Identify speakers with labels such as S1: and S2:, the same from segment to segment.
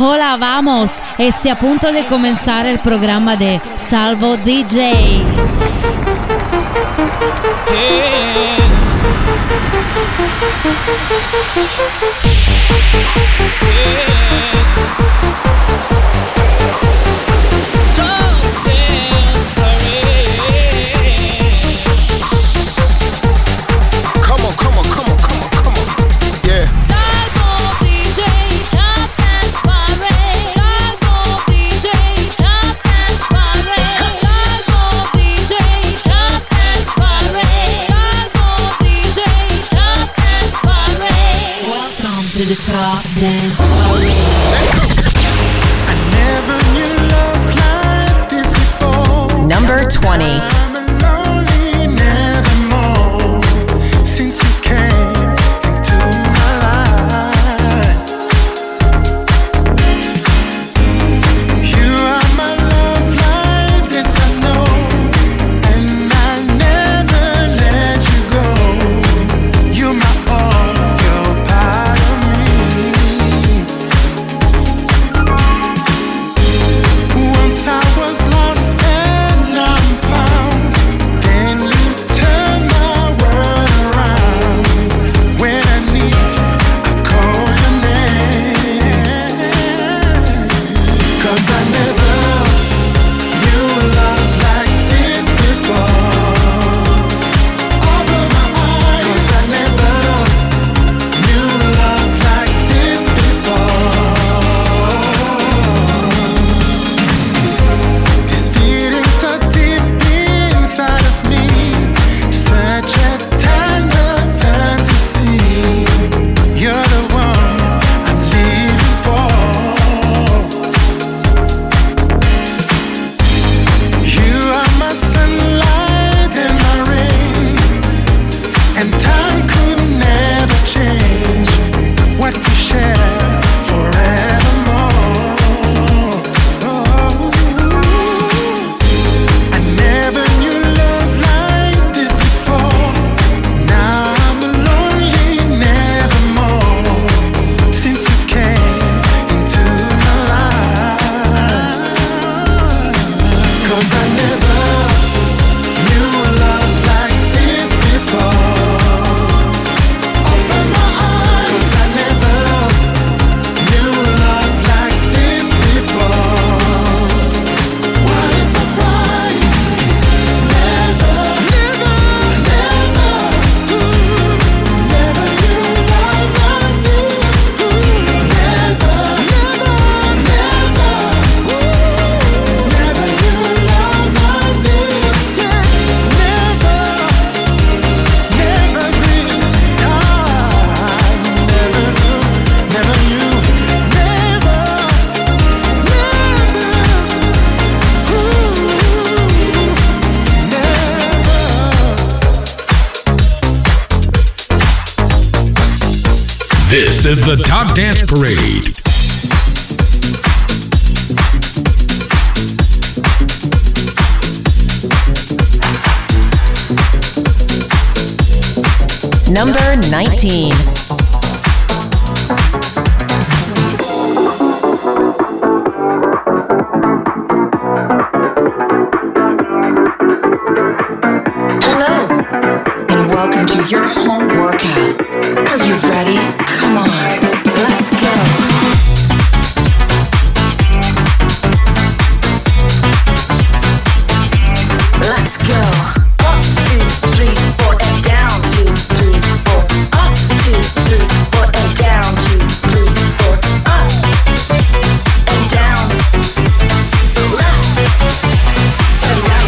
S1: Hola, vamos. A punto de comenzar el programa de Salvo DJ.
S2: The top dance parade. I never knew love like this before.
S3: Number 20.
S2: I'm lonely, never more. Since you came into my life, you are my love life, yes I know, and I'll never let you go. You're my all, you're part of me. Once I was lost and now I'm found. Then you turn my world around. When I need you, I call your name. 'Cause I never knew love like this before. Open my eyes. 'Cause I never knew love like this before. This feeling so deep inside of me, such a tender fantasy. You're the one I'm living for. You are my sunlight and my rain, and time could never change what we share forevermore. I never knew love like this before. Now I'm lonely, nevermore. Since you came into my life, 'cause I never knew love like this before. Open my eyes. 'Cause I never knew love like this before. What a surprise. Never, never, never, never knew love like this. Never, never, never, never knew love like this. Yeah, never, never been kind. Never knew, never knew, never,
S4: This is the Top Dance Parade.
S3: Number 19.
S5: Hello, and welcome to your home workout. Are you ready? Come on, let's go. Let's go. Up, 2, 3, 4, and down. 2, 3, 4. Up, 2, 3, 4, and down. 2, 3, 4. Up and down. Left and right.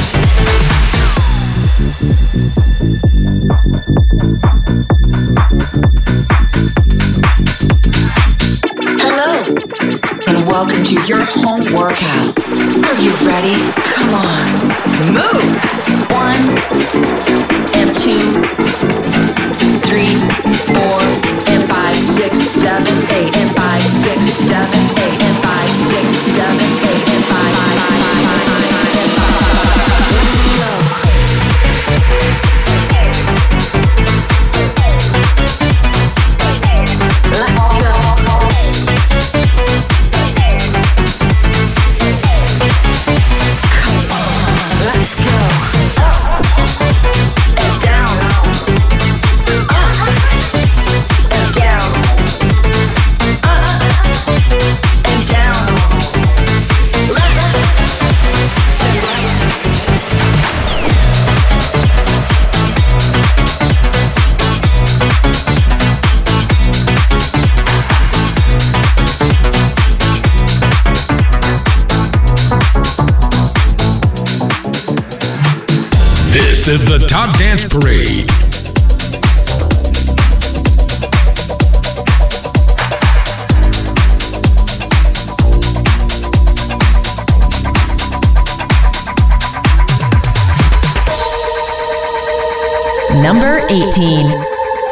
S5: Hello, and welcome to your home workout. Are you ready? Come on, move. 1 and 2, 3, 4, and 5, 6, 7, 8, and 5, 6, 7, 8, and 5, 6, 7, 8, and 5, 5, 5, 5, 5, and 5. Let's go. Let's go.
S4: This is the Top Dance Parade.
S3: Number 18.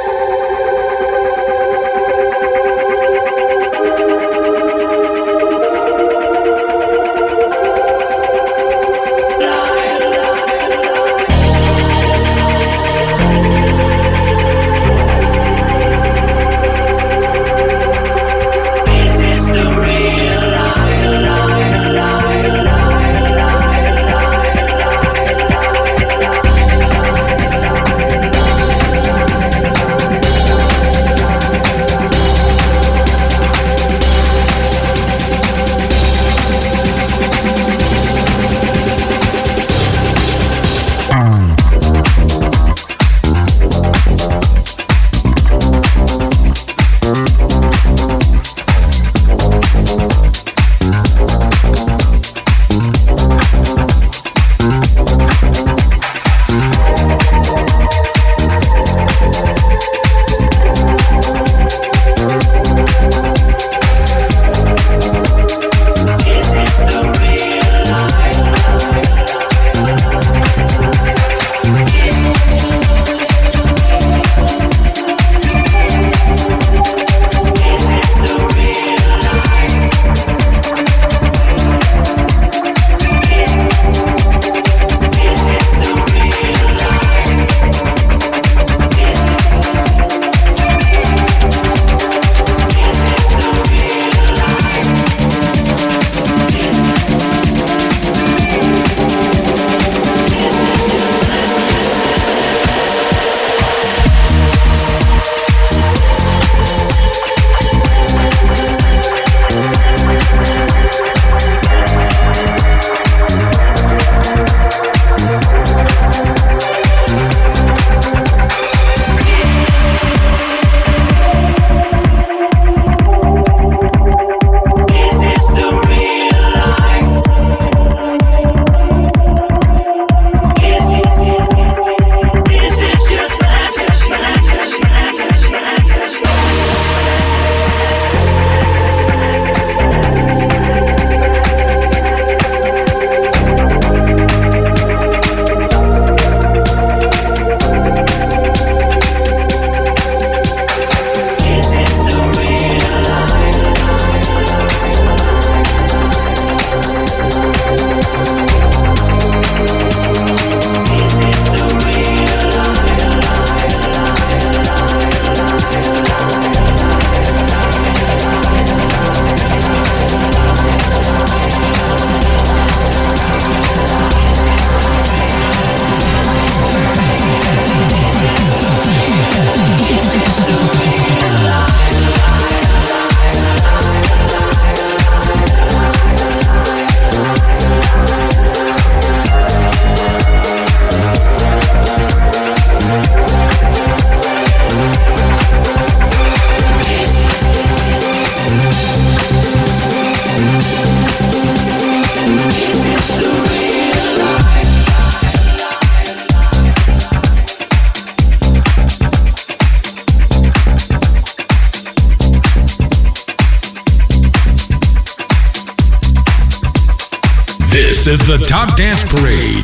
S4: This is the Top Dance Parade.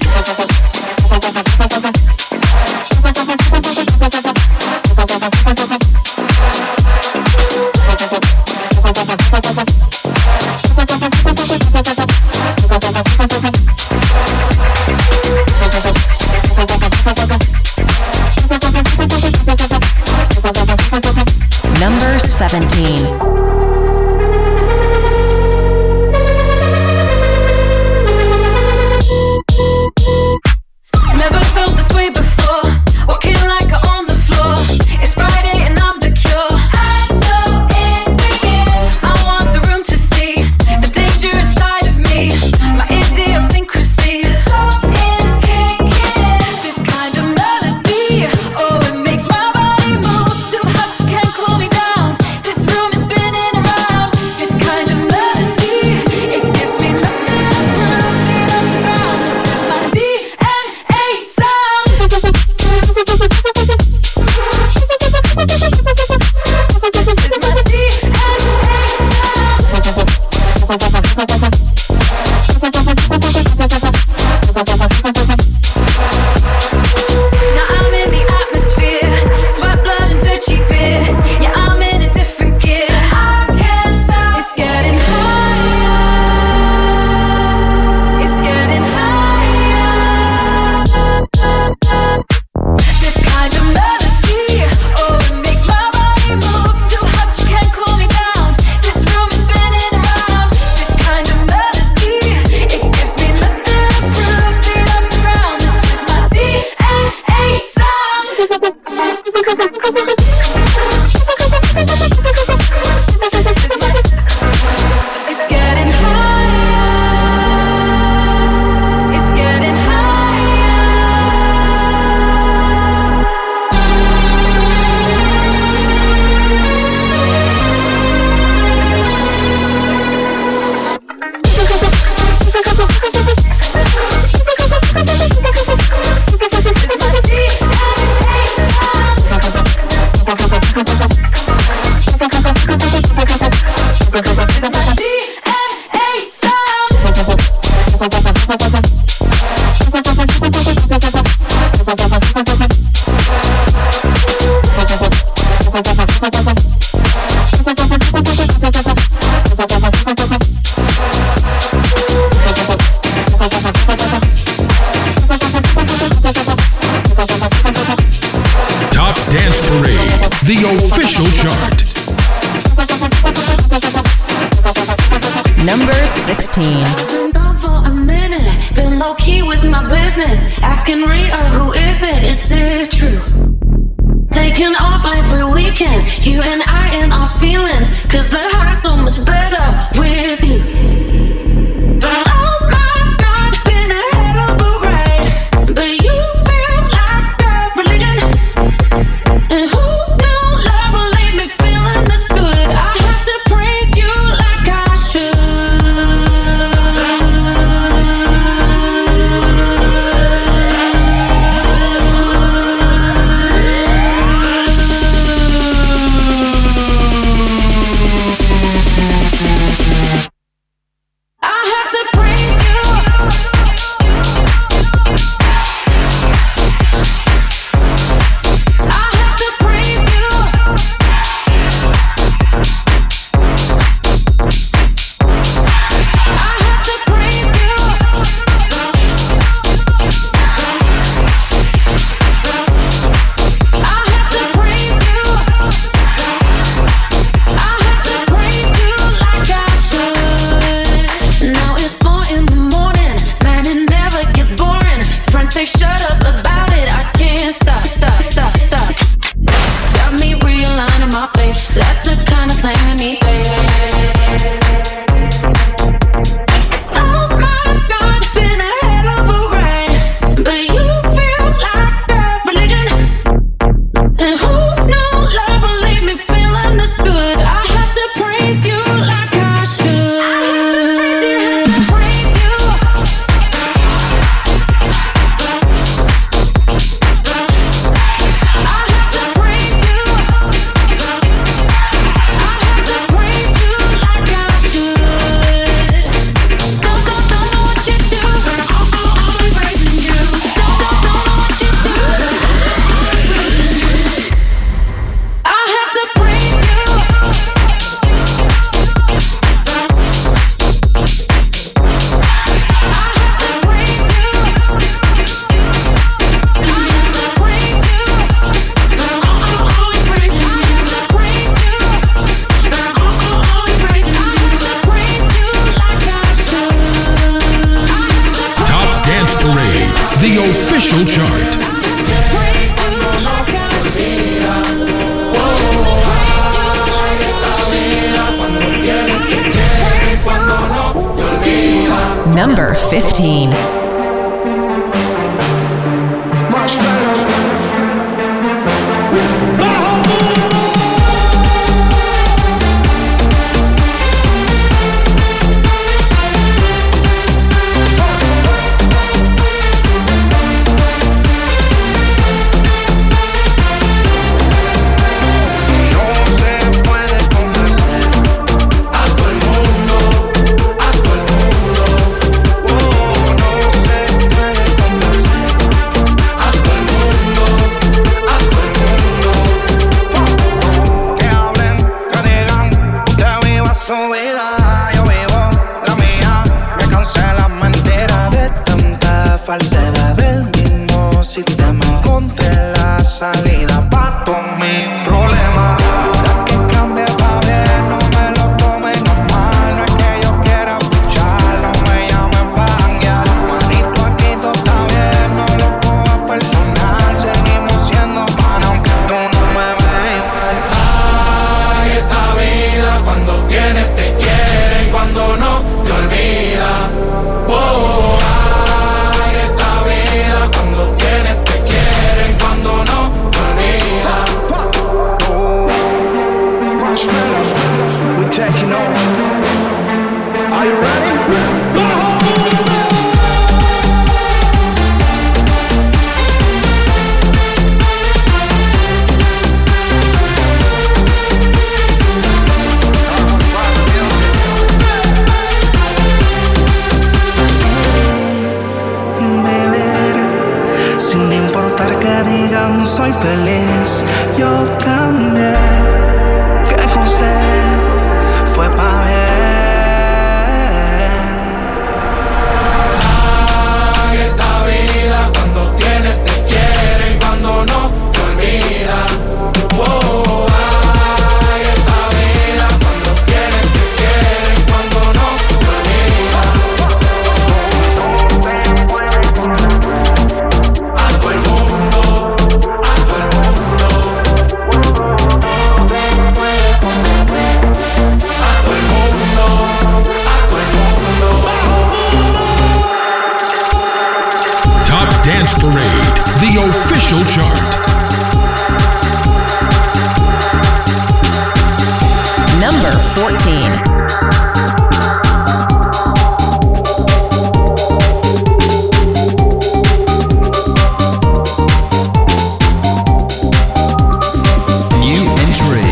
S3: Number 17.
S6: Never felt
S4: the official chart.
S3: Number 16.
S6: Been gone for a minute, been low key with my business. Asking Rita, who is it? Is it true? Taking off every weekend, you and I in our feelings. Cause the high's so much better with you. Oh my God, been a hell of a ride. But you feel like a religion. And who knew love will leave me feeling this good? I have to praise you like I should. I have to praise you. I have to praise you. I have to praise you. I have to praise you. I have to praise you like I should. Now it's 4 in the morning, man, it never gets boring. Friends say shut up about it, I can't stop. Got me realigning my faith, that's the kind of thing that needs faith. Oh my God, been a hell of a ride. But you feel like a religion. And who knew love will leave me feeling this good? I have to praise you like I should. I have to praise you, have to praise you. I have to praise you. I have to praise you like I should. Don't know what you do, but I'm always praising you. Don't know what you do. I have to praise you. I have to praise you. I have to praise you. I'm always praising you. I have to praise you. I'm always praising you. I have to praise you like I should. I have to
S4: Top Dance Parade, the official chart.
S6: praise you like I
S3: Number 15.
S2: No se puede complacer a todo el mundo. Are you ready?
S7: Sin importar que digan soy feliz, yo cambié, que con usted fue pa' bien.
S2: Ay, esta vida cuando tienes te quieren, cuando no te olvidan. Oh, ay, esta vida cuando tienes te quieren, cuando no te olvidan. A todo el mundo, a todo el mundo. A todo el mundo, a todo el mundo.
S4: Top Dance Parade, the official chart.
S3: Number 14.
S4: New entry.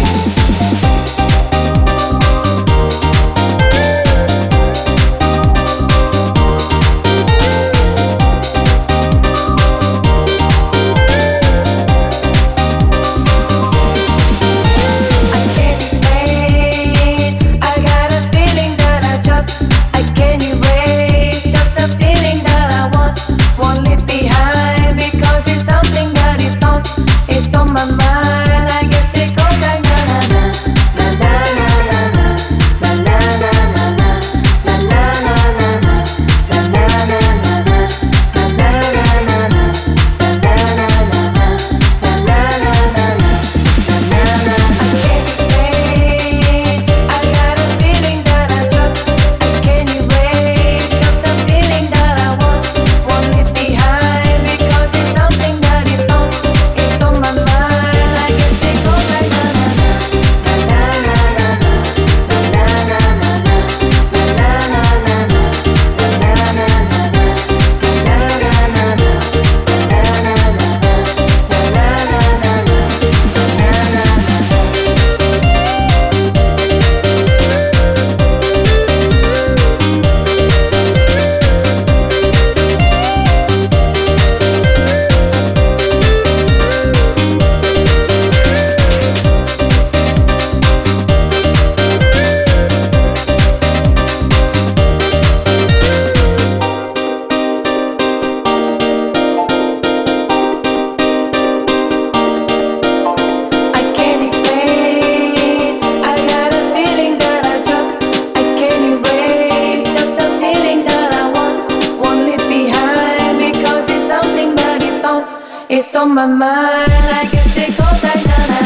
S6: It's on my mind. I guess it goes like na na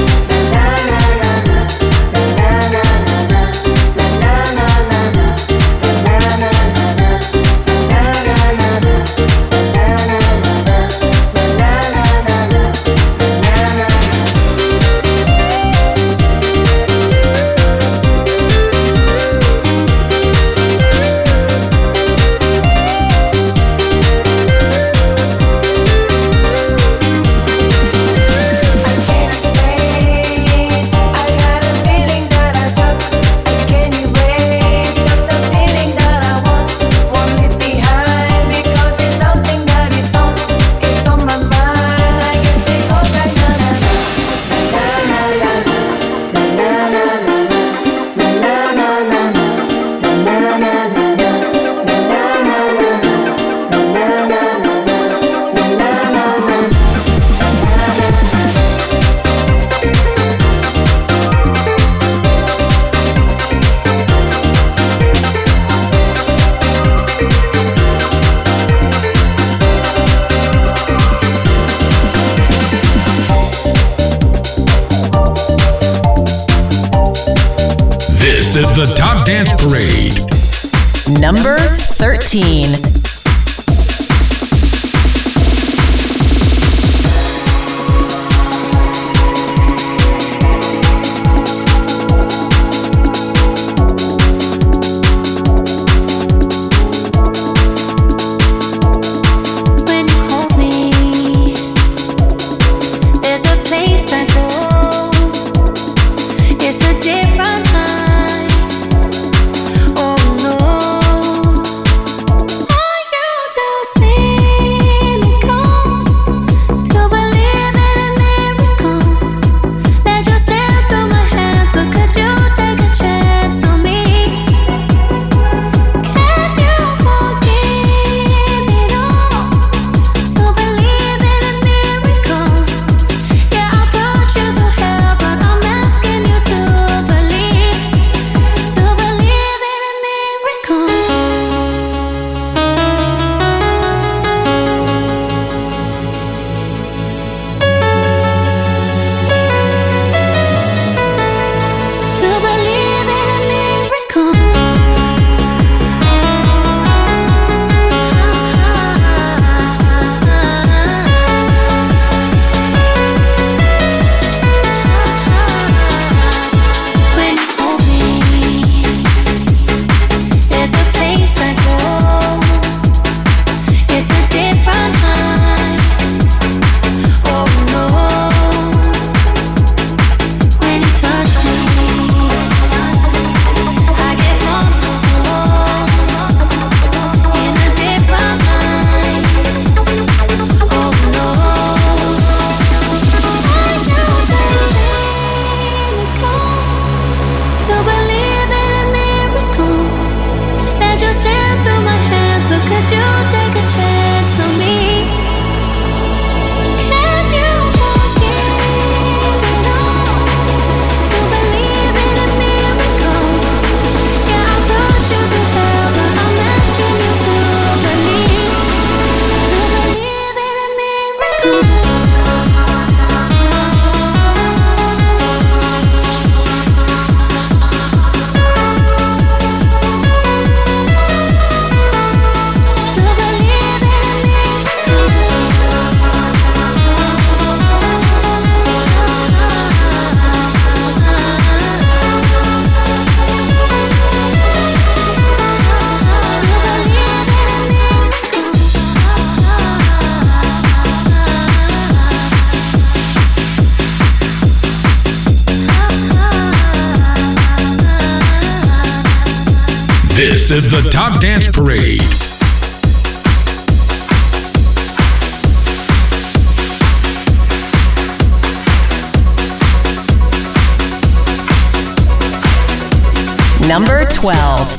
S6: na na na na na na na na
S4: This is the Top Dance Parade.
S3: Number 13.
S4: This is the Top Dance Parade.
S3: Number 12.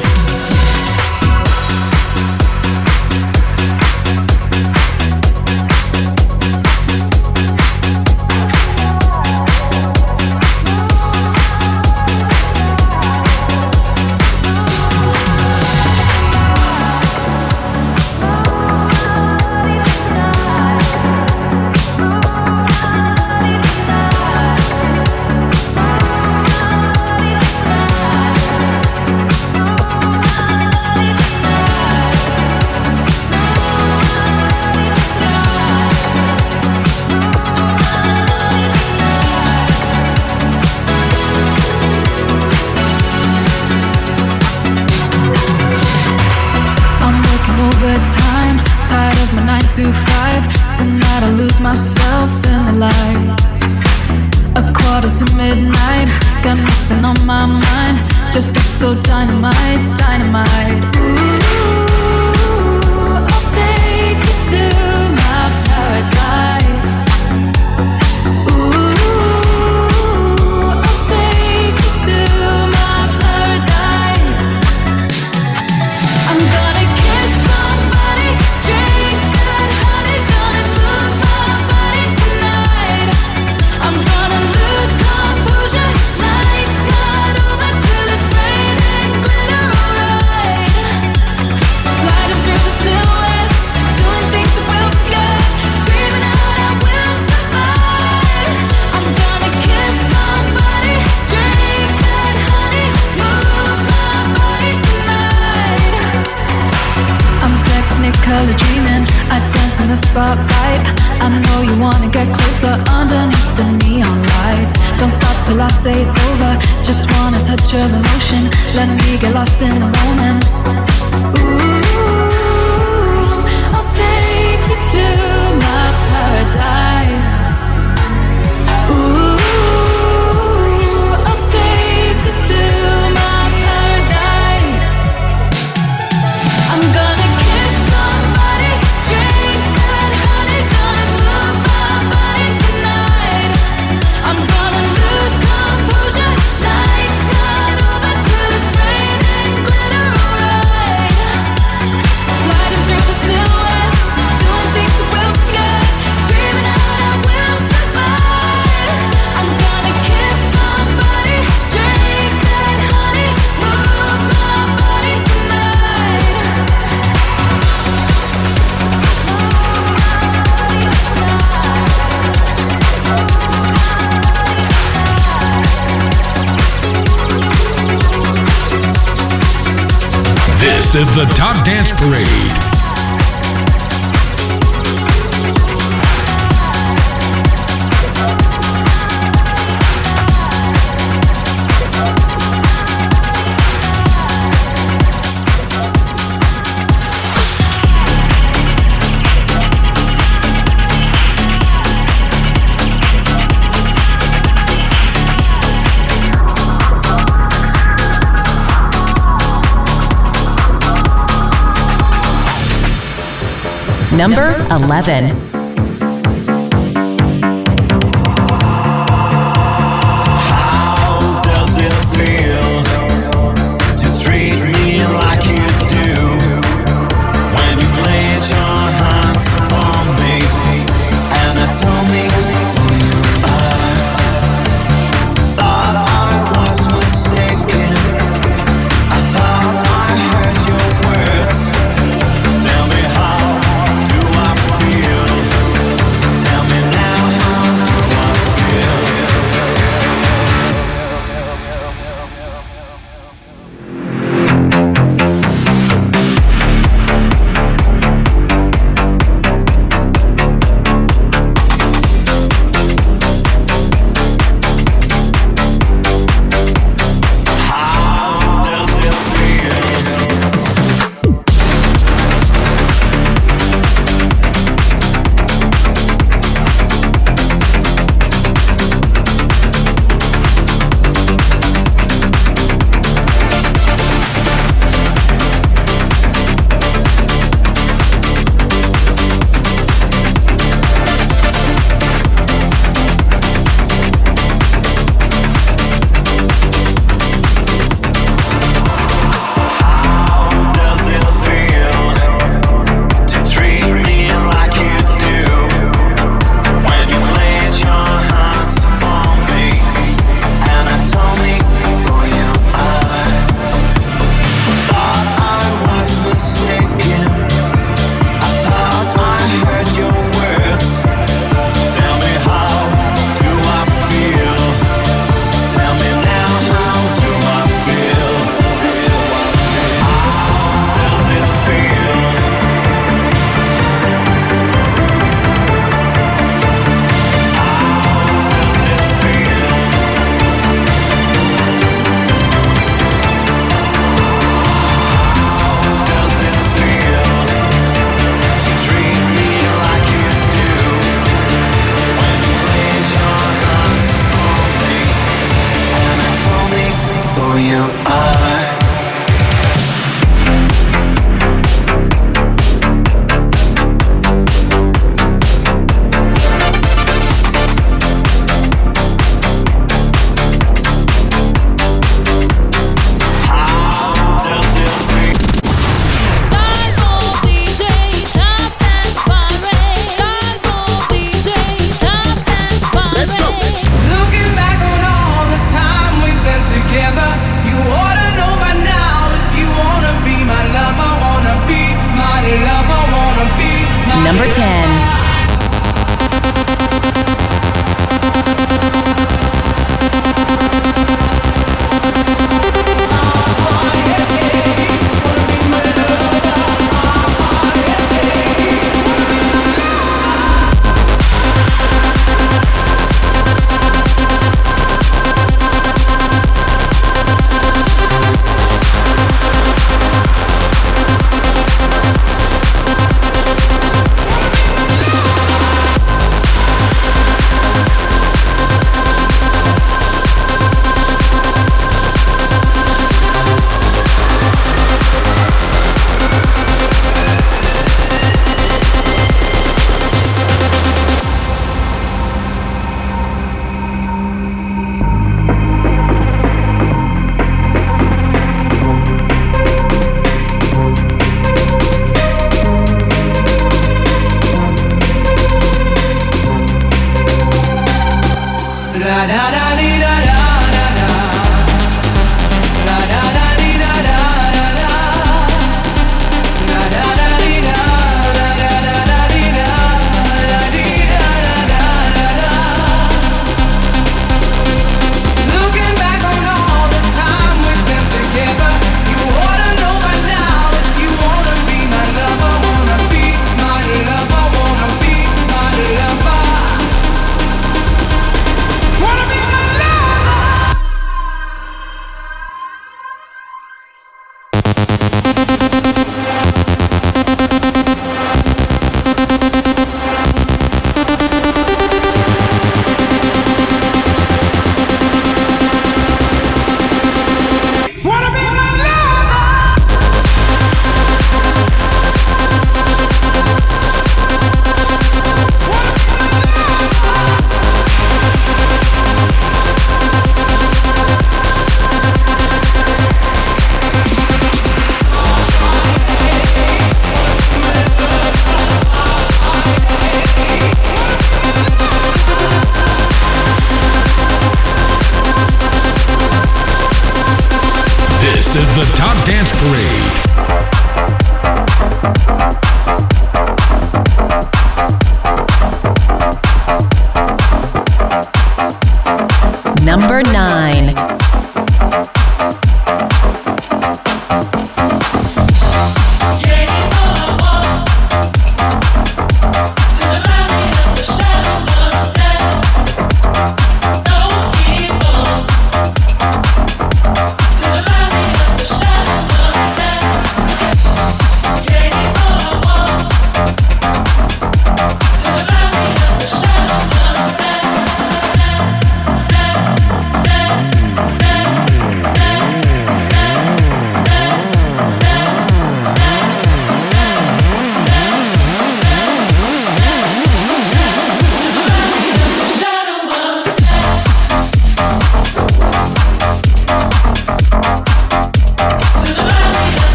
S6: Tonight I lose myself in the lights. A quarter to midnight, got nothing on my mind. Just got so dynamite, dynamite. Ooh, I'll take you to my paradise. Ooh, I'll take you to my paradise. I'm gonna kiss somebody, drink that honey, gonna move my body tonight. I'm gonna lose composure, nights not over till it's raining glitter, alright. Sliding through the silhouettes, doing things that we'll forget, screaming out I will survive. I'm gonna kiss somebody, drink that honey, move my body tonight. I'm technically dreaming, I dance in the spotlight. I know you wanna get closer underneath the neon lights. Don't stop till I say it's over, just wanna touch of emotion. Let me get lost in the moment. Ooh, I'll take you to my paradise. Ooh, I'll take you to my paradise. I'm gonna kiss somebody, drink that honey, gonna move my body tonight. I'm gonna lose composure, nights not over till it's raining glitter, alright. Sliding through the silhouettes, doing things that we'll forget, screaming out I will survive. I'm gonna kiss somebody, drink that honey, move my body tonight.
S4: This is the Top Dance Parade.
S3: Number 11.
S8: How does it feel to treat me like you do? When you've laid your hands on me and I told me who you are. Thought I was mistaken, I thought I heard your words. Tell me how do I feel?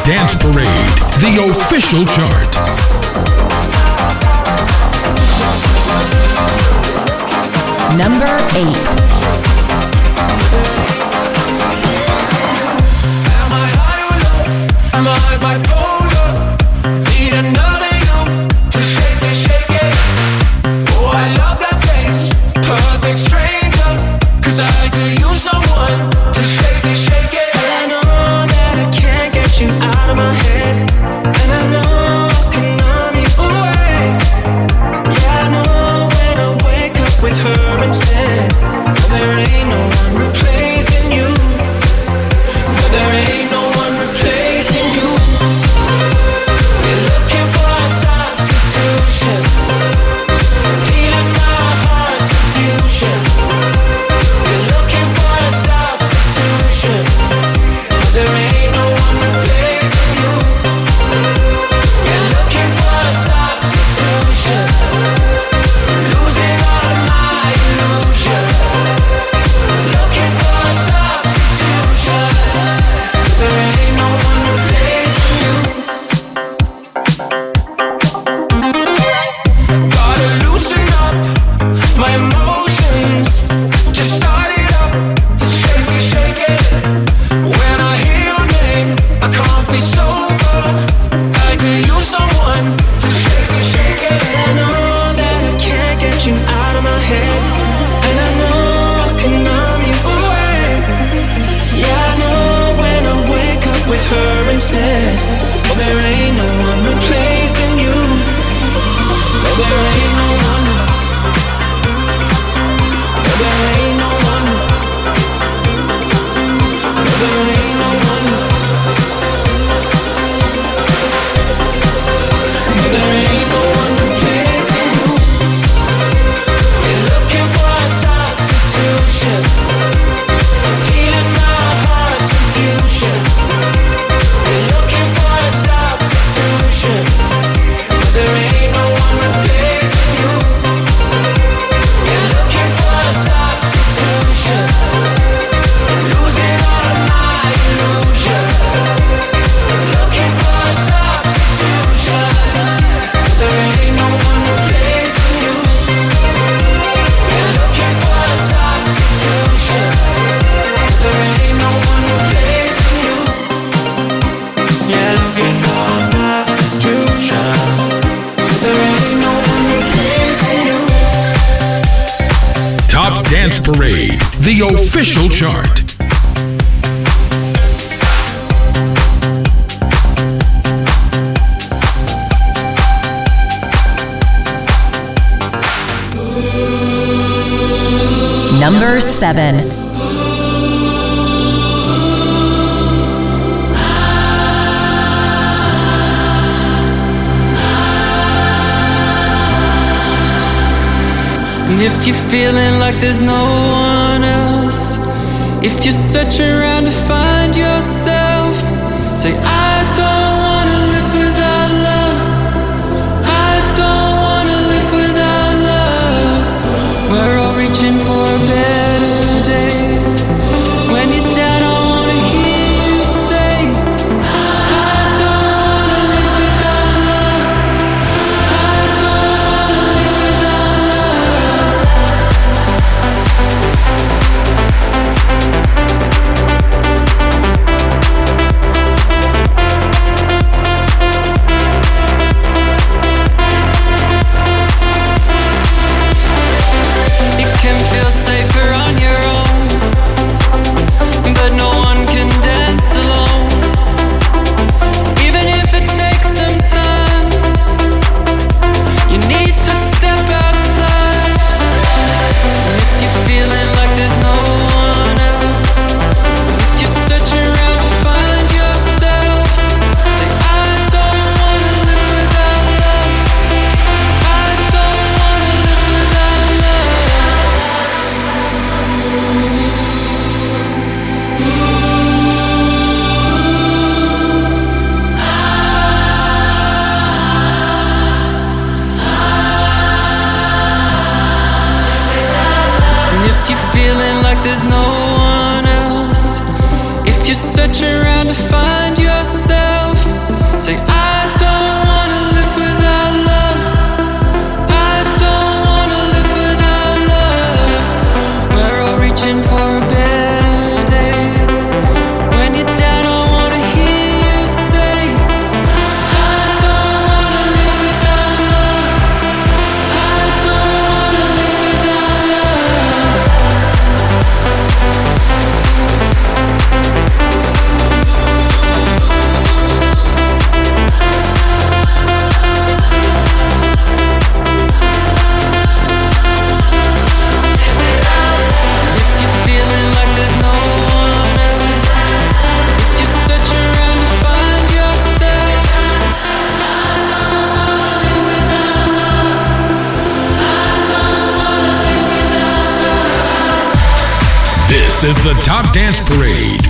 S4: Dance Parade, the official chart.
S3: Number 8.
S8: Am I bipolar? Need another you to shake it. Oh, I love that face, perfect stranger. 'Cause I could use someone to shake it. And I know that I can't get you out of my head. And I know I can numb you away. Yeah, I know when I wake up with her instead. Oh, there ain't no one replacing you. No, there ain't no one replacing you. You're looking for a substitution, healing my heart's confusion. You're looking for a substitution. There ain't no one replacing you. You're looking for a substitution, losing all of my illusion. Looking for a substitution. There ain't no one replacing you. Gotta loosen up my emotions. Just start it up to shake it. When I hear your name, I can't be sober. I could use someone to shake it. And I know that I can't get you out of my head. And I know I can numb you away. Yeah, I know when I wake up with her instead. Oh, there ain't no one replacing you. No, there ain't no one. No, there ain't no one. No, there ain't no one. No, there ain't no one replacing you. You're looking for a substitution, healing my heart's confusion. You're looking for a substitution. There ain't no one replacing you. You're looking for a substitution, losing all of my illusion. Looking for a substitution. There ain't no one replacing you. You're looking for a substitution. There ain't no one replacing you. You're looking for a substitution. There ain't no one replacing you.
S4: Top Dance Parade, the official chart.
S3: Number 7.
S9: And if you're feeling like there's no one else, if you're searching around to find yourself, say, I don't wanna live without love. I don't wanna live without love. We're all reaching for a better day. When you're down, I wanna hear you say, I don't wanna live without love. I don't wanna live without love. You can feel safer on your own, but no one can dance alone. Even if it takes some time, you need to step outside. And if you're feeling like there's no one else, if you're searching around to find yourself, say, I don't wanna live without love. I don't wanna live without love. And if you're feeling like there's no one else, if you're searching around to find yourself, for a better day. When you're down, I wanna hear you say, I don't wanna live without love. I don't wanna live without love. If you're feeling like there's no one else, if you search around to find yourself, I don't wanna live without love. I don't wanna live without love.
S4: This is the Top Dance Parade.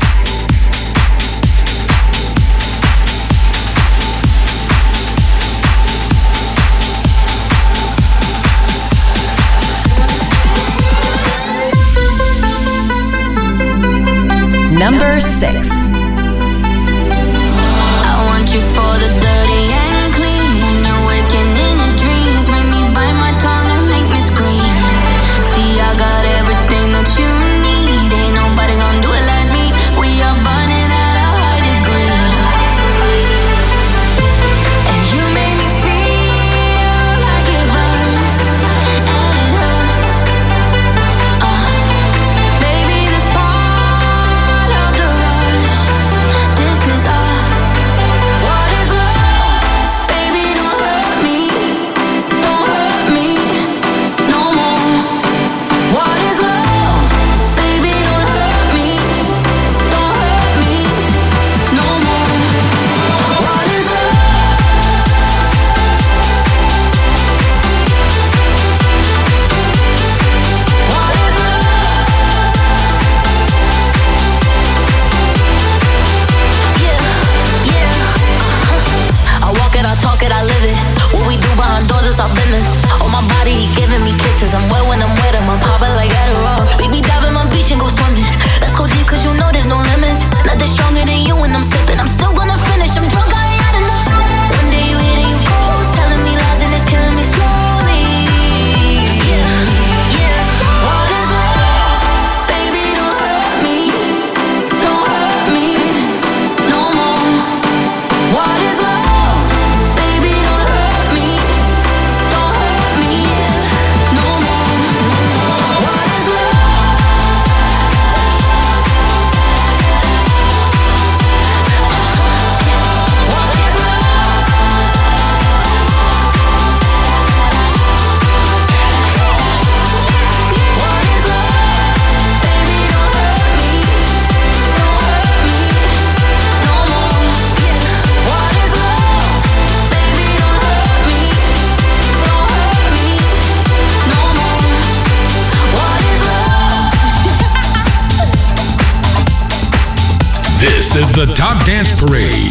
S3: Number 6.
S6: I want you for the dirty and clean. When you're waking in your dreams, make me bite my tongue and make me scream. See, I got everything that you need. Ain't nobody gonna do it like me. We are burning at a high degree. And you make me feel like it burns and it hurts. Baby, this part of the rush. This is us. What is love? Baby, don't hurt me. Don't hurt me no more. What is love? Baby, don't hurt me. Don't hurt me no more. What is love? What is love? I walk it, I talk it, I live it. What we do behind doors is our business. On my body, he giving me kisses. I'm wet when I'm wet, I'm popping like Adderall. Baby, dive in my beach and go swimming. Let's go deep, cause you know there's no limits. Nothing stronger than you when I'm sipping. I'm still gonna finish, I'm drunk, I ain't had enough. One day you hit and you close, telling me lies and it's killing me slowly. What is love? Baby, don't hurt me. Don't hurt me no more. What is love? Baby, don't hurt me. Don't hurt me no more. What is love? What is love? What is love? Baby, don't hurt me. Don't hurt me no more. What is love? Baby, don't hurt me. Don't hurt me no more. What is love?
S4: This is the Top Dance Parade.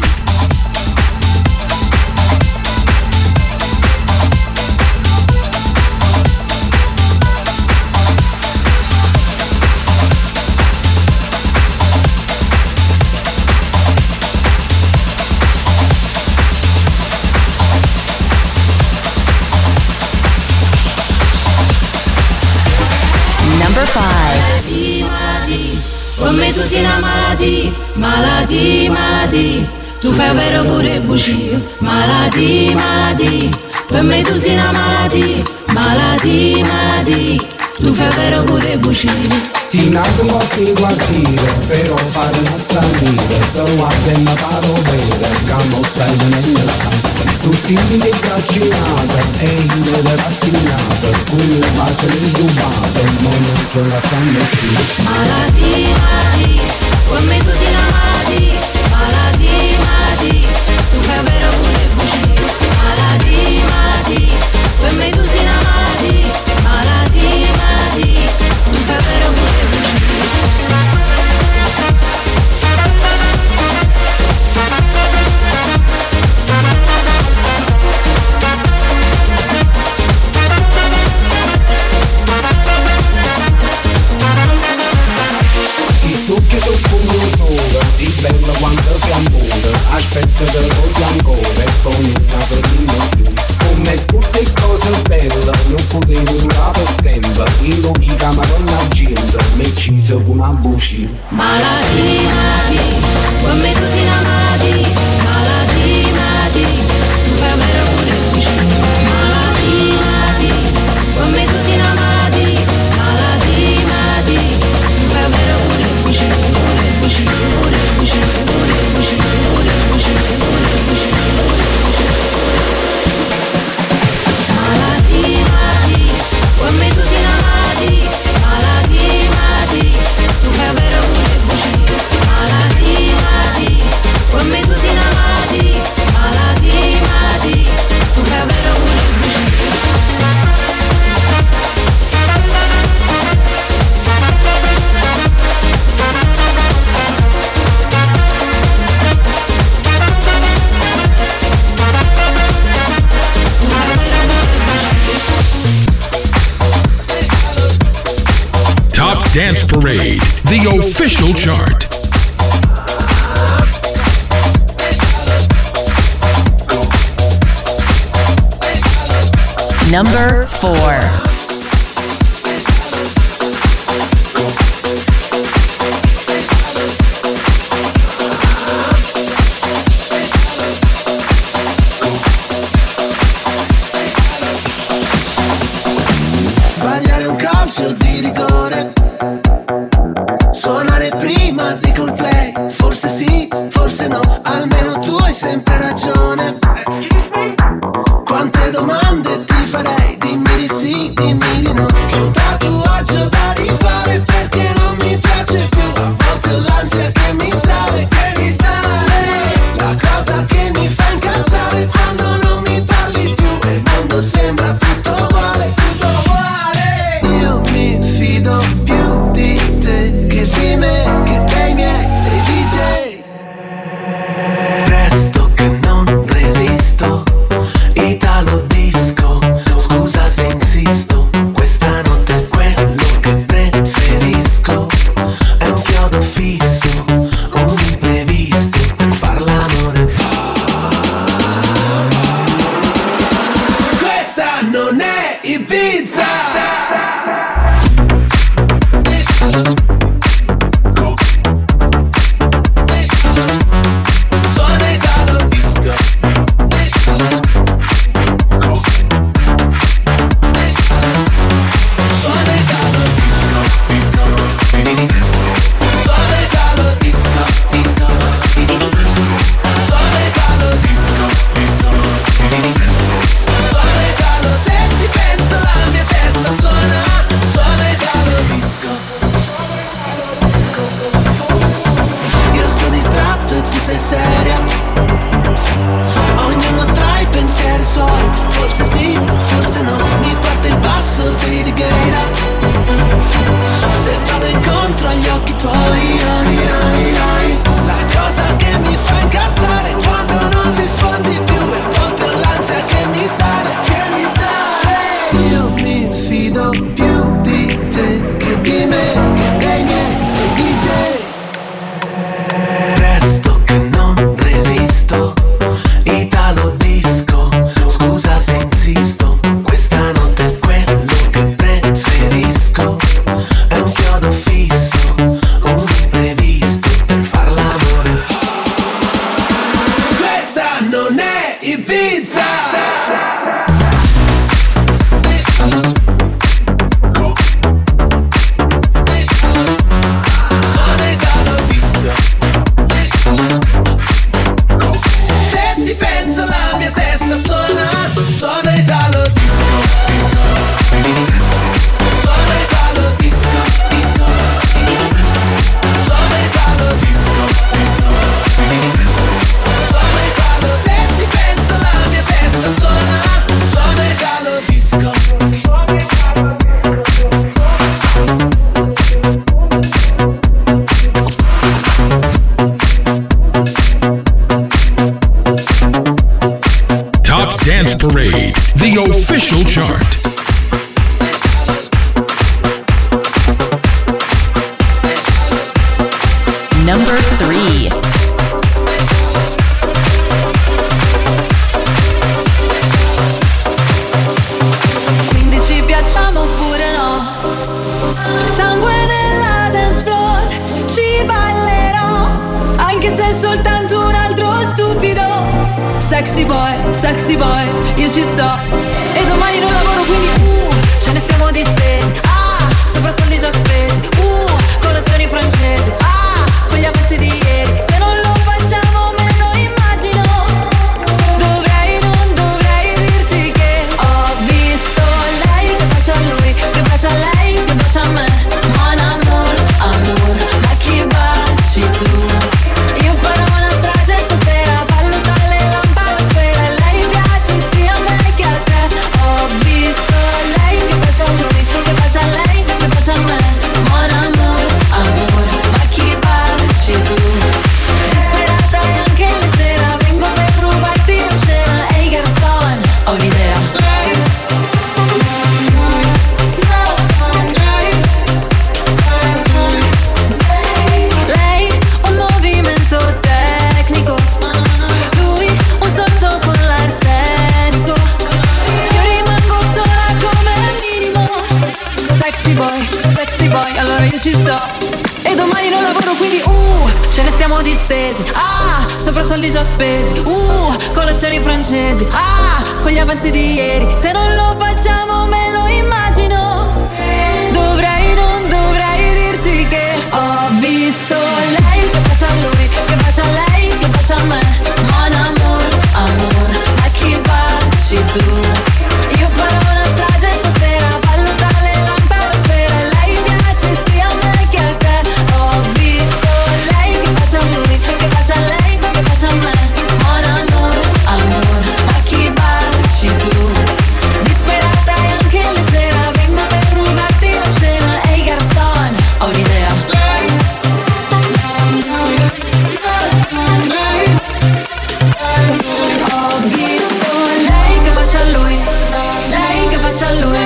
S3: Number 5.
S10: Con me tu sei una malattia, malattia, malattia. Tu fai vero pure bugie, malattia, malattia. Per me tu sei una malattia, malattia, malattia. Tu fai vero pure bugie.
S11: Si nato qualche quartiere, però fare una straniera. Trovate una parovera, che non stai nella casa. Tu senti che trascinata, e io ero rassegnata. Quelle base rubate, non c'è la sangue più.
S10: Malattia, malattia. Con me tu sei una malattia, malattia, malattia. Tu fai vero pure bugie, malattia, malattia. Per me tu sei una malattia, malattia, malattia. Tu fai vero pure
S11: Che tu fungo solo, si bella quanto si amore. Aspetta te lo voglio ancora, e con il caso di più. Come come tutte cose belle, non potevo durare tempo, io dica madonna gente, me ci sono una buci.
S10: Malati, come tu sei amati, malati, tu fai bene pure buci. Malati, come tu sei amati, malati, tu fai bene pure buci, pure buci, pure buci, pure buci, pure buci, pure buci, pure buci. Malati, come tu sei amati, malati, tu fai bene pure buci. Malati, come tu sei amati, malati, tu fai bene pure buci.
S4: Top Dance Parade, the official chart.
S3: Number 4.
S7: Sbagliare un calcio di rigore, suonare prima di Coldplay, forse sì, forse no, almeno tu hai sempre ragione. Quante domande ti farei, dimmi di sì, dimmi di no. Che un tatuaggio da rifare perché non mi piace più, a volte ho l'ansia che mi sale, la cosa che mi fa incazzare quando non mi parli più e il mondo sembra tutto uguale, tutto uguale. Io mi fido più di te che di me, che dei miei, dei DJ. Presto che non resisto, Italo disco, scusa se insisto, questa notte è quello che preferisco, è un chiodo fisso, un imprevisto per far l'amore. Questa non è Ibiza. Suona Italo disco. Suona Italo disco, disco, suona Italo disco, disco, suona Italo disco, disco, suona Italo, se ti penso la mia testa suona Italo disco. Io sto distratto e tu sei seria, ognuno tra i pensieri suoi, forse sì, forse no, mi parte il passo di righeira. Se vado incontro agli occhi tuoi, la cosa che mi fa incazzare è quando non rispondi più e a volte ho l'ansia che mi sale, Io mi fido più di te che di me, che dei miei, dei DJ. Presto che non resisto, Italo disco, scusa se insisto, questa notte è quello che preferisco, è un chiodo fisso, un imprevisto per far l'amore. Questa non è Ibiza. Suona Italo disco. Se ti penso la mia testa suona Italo disco, suona Italo disco, disco, suona Italo disco, suona Italo, se ti penso la mia testa suona Italo disco.
S4: Top Dance Parade, the official chart.
S3: Number 3.
S6: sexy boy, io ci sto. E domani non lavoro quindi ce ne stiamo distesi. Sopra soldi già spesi. Colazioni francesi. Con gli avanzi di ieri. Se non lo facciamo me lo immagino. Non dovrei dirti che ho visto lei che bacia a lui, che bacia a lei, che bacia a me. Mon amour, amour, ma chi baci tu? Io farò una strage stasera, ballo tra le lampadosfere. Lei piace sia a me che a te. Ho visto lei che bacia a lui, che bacia a lei, che bacia a me. Mon amour, amour, ma chi baci tu? Disperata e anche leggera, vengo per rubarti la scena. Ehi garçon, ho un'idea. Lei un movimento tecnico, lui un sorso con l'arsenico. Io rimango sola come minimo. Sexy boy, allora io ci sto. E domani non lavoro quindi ce ne stiamo distesi. Sopra soldi già spesi. Colazioni francesi. Con gli avanzi di ieri. Se non lo facciamo me lo immagino. Non dovrei dirti che ho visto lei che bacia a lui, che bacia a lei, che bacia a me. Mon amour, amour, ma chi baci tu? Io farò una strage stasera, ballo tra le lampadosfere. Lei piace sia a me che a te. Ho visto lei che bacia a lui, che bacia a lei, che bacia a me. Mon amour, amour, ma chi baci tu? Disperata e anche leggera, vengo per rubarti la scena. Ehi garçon, ho un'idea. Ho visto lei che bacia a lui, lei che bacia a lui.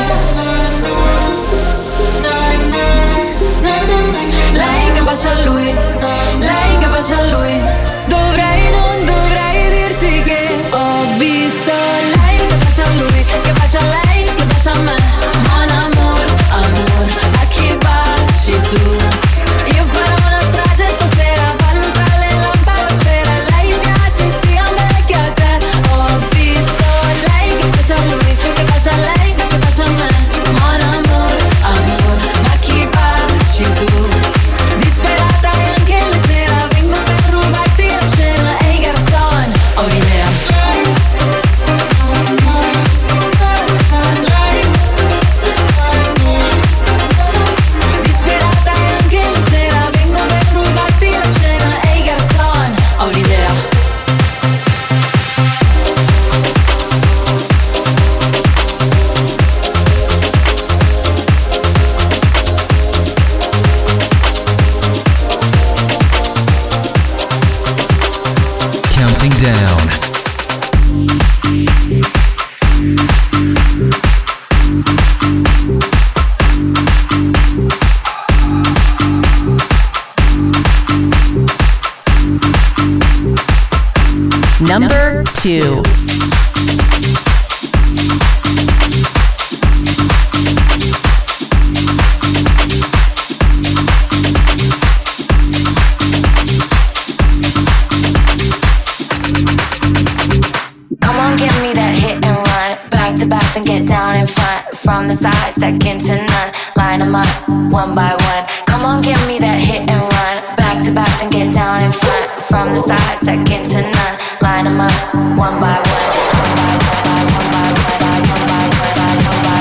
S6: Lei che bacia a lui, lei che bacia a lui. Non dovrei dirti che ho visto lei che bacia a lui, che bacia a lei, che bacia a me. Mon amour, amour, a chi baci tu? Io farò una strage stasera, ballo tra le lampadosfere. Lei piace sia a me che a te. Ho visto lei che bacia a lui, che bacia a lei, che bacia a me. Mon amour, amour, ma chi baci tu? Disperata e anche leggera, vengo per rubarti la scena. Ehi garçon, ho un'idea. Disperata e anche leggera, vengo per rubarti la scena. Ehi garçon, ho un'idea.
S12: Counting down.
S3: Number 2.
S13: Come on, give me that hit and run. Back to back, then get down in front. From the side, second to none. Line them up, one by one. Come on, give me that hit and run. Back to back, then get down in front. From the side, second to none. Line them up, one by one. One by one, one by one, one by one, one by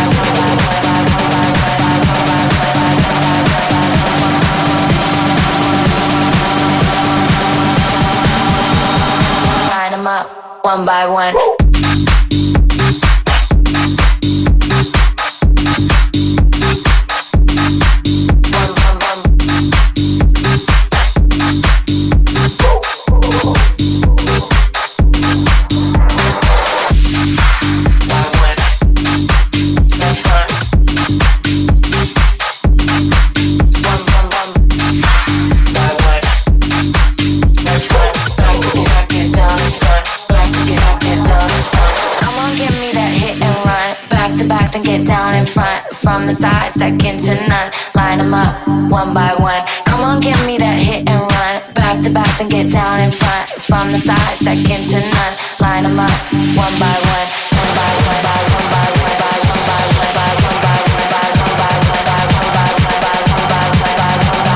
S13: one. Line them up, one by one. From the side, second to none. Line them up, one by one. Come on, give me that hit and run. back to back, then get down in front. From the side, second to none. Line them up, one by one, one by one, by one by one, by one by one, by one by one, by one by one, by one by one, by one by one, by one by one,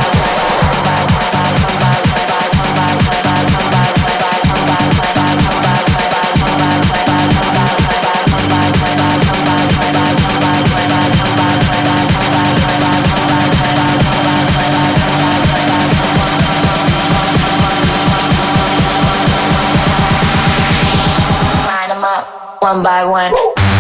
S13: one by one.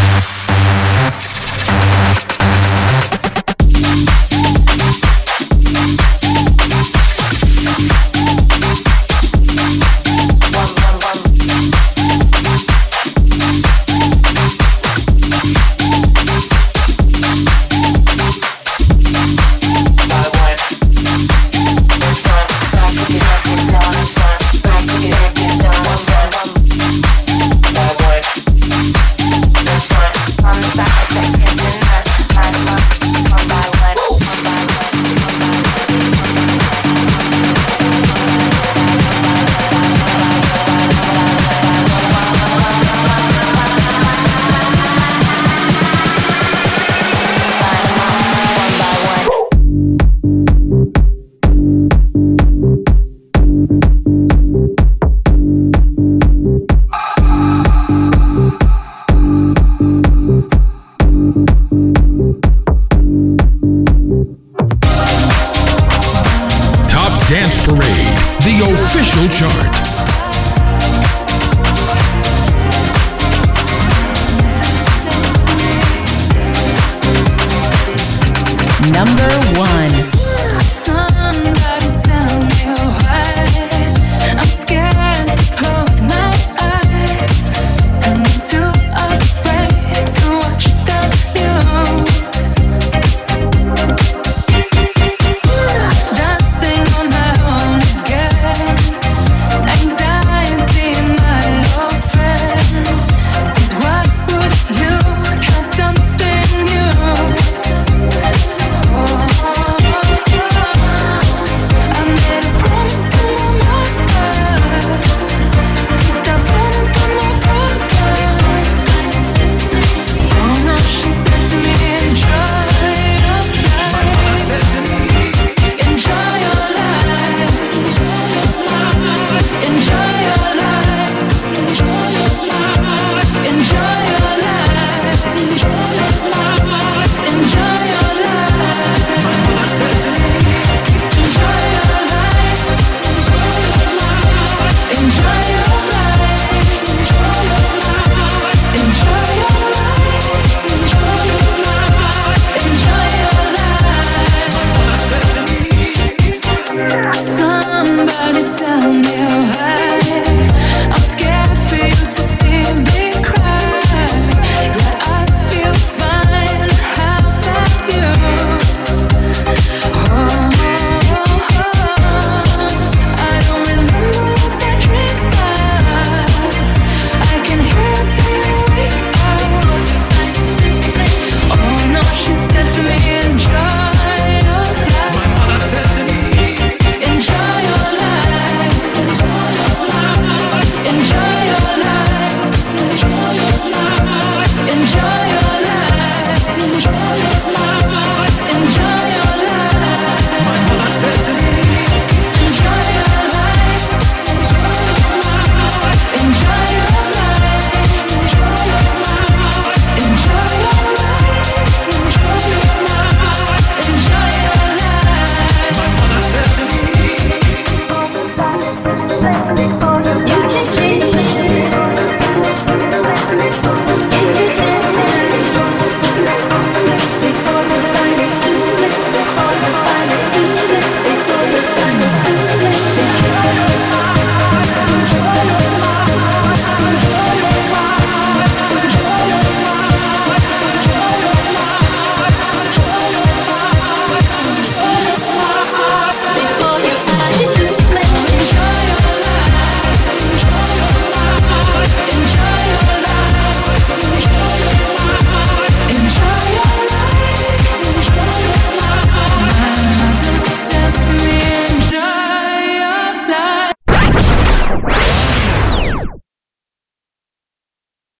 S4: Dance Parade, the official chart.
S3: Number 1.